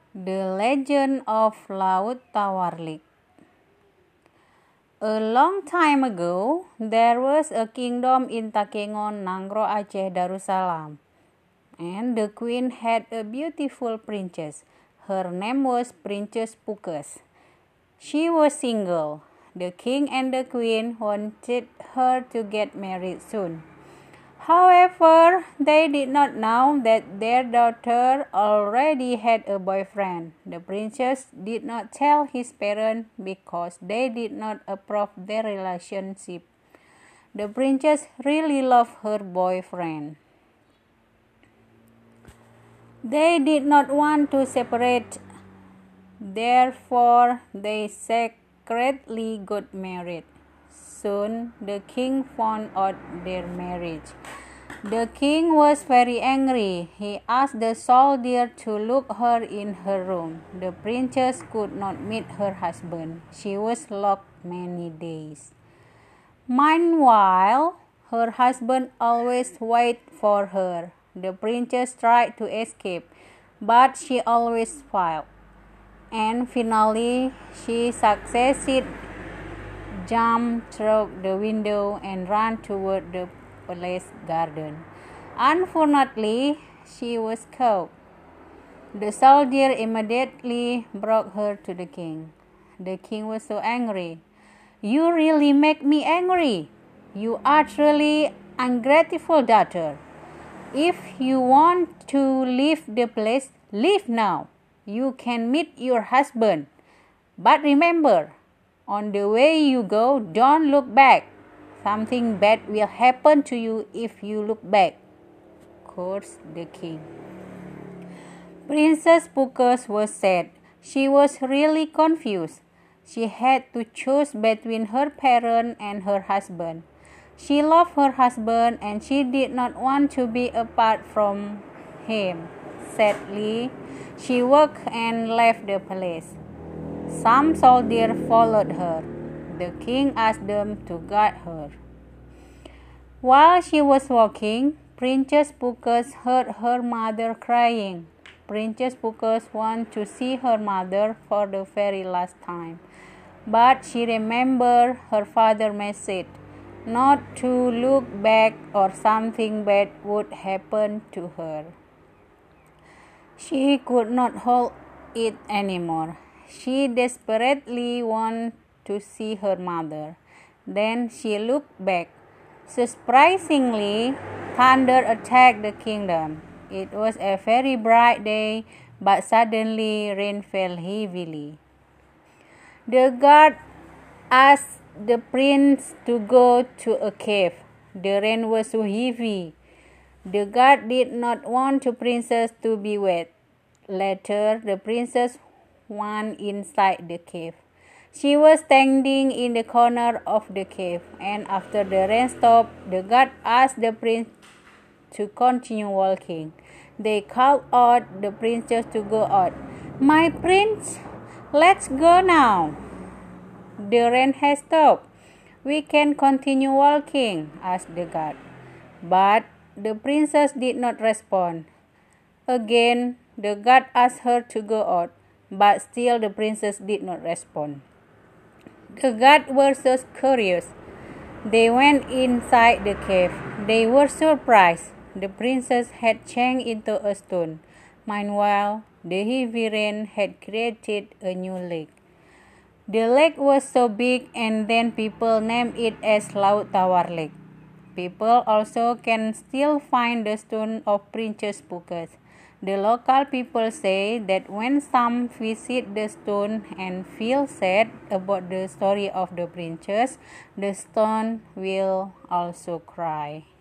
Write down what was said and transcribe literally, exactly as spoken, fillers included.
The Legend of Laut Tawarlik. A long time ago, there was a kingdom in Takengon, Nangro Aceh, Darussalam, and the queen had a beautiful princess. Her name was Princess Pukas. She was single. The king and the queen wanted her to get married soon. However, they did not know that their daughter already had a boyfriend. The princess did not tell his parents because they did not approve their relationship. The princess really loved her boyfriend. They did not want to separate, therefore they secretly got married. Soon the king found out their marriage. The king was very angry. He asked the soldier to lock her in her room. The princess could not meet her husband. She was locked many days. Meanwhile, her husband always waited for her. The princess tried to escape, but she always failed. And finally, she succeeded. Jumped through the window and ran toward the palace garden. Unfortunately, she was caught. The soldier immediately brought her to the king. The king was so angry. "You really make me angry. You are truly ungrateful daughter. If you want to leave the place, leave now. You can meet your husband. But remember, on the way you go, don't look back. Something bad will happen to you if you look back," cursed the king. Princess Pukas was sad. She was really confused. She had to choose between her parent and her husband. She loved her husband and she did not want to be apart from him. Sadly, she walked and left the palace. Some soldiers followed her. The king asked them to guard her. While she was walking, Princess Pukas heard her mother crying. Princess Pukas wanted to see her mother for the very last time, but she remembered her father's message not to look back or something bad would happen to her. She could not hold it anymore. She desperately wanted to see her mother. Then she looked back. Surprisingly, thunder attacked the kingdom. It was a very bright day, but suddenly rain fell heavily. The guard asked the prince to go to a cave. The rain was so heavy. The guard did not want the princess to be wet. Later, the princess went inside the cave. She was standing in the corner of the cave, and after the rain stopped, the guard asked the prince to continue walking. They called out the princess to go out. "My prince, let's go now. The rain has stopped. We can continue walking," asked the guard. But the princess did not respond. Again, the guard asked her to go out, but still the princess did not respond. The guards were so curious. They went inside the cave. They were surprised. The princess had changed into a stone. Meanwhile, the heavy rain had created a new lake. The lake was so big, and then people named it as Laut Tawarlik. People also can still find the stone of Princess Pukas. The local people say that when some visit the stone and feel sad about the story of the princess, the stone will also cry.